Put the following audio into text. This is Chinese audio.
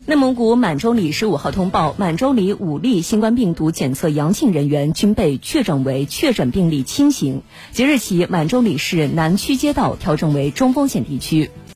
内蒙古满洲里15号通报，满洲里5例新冠病毒检测阳性人员均被确诊为确诊病例轻型。即日起，满洲里市南区街道调整为中风险地区。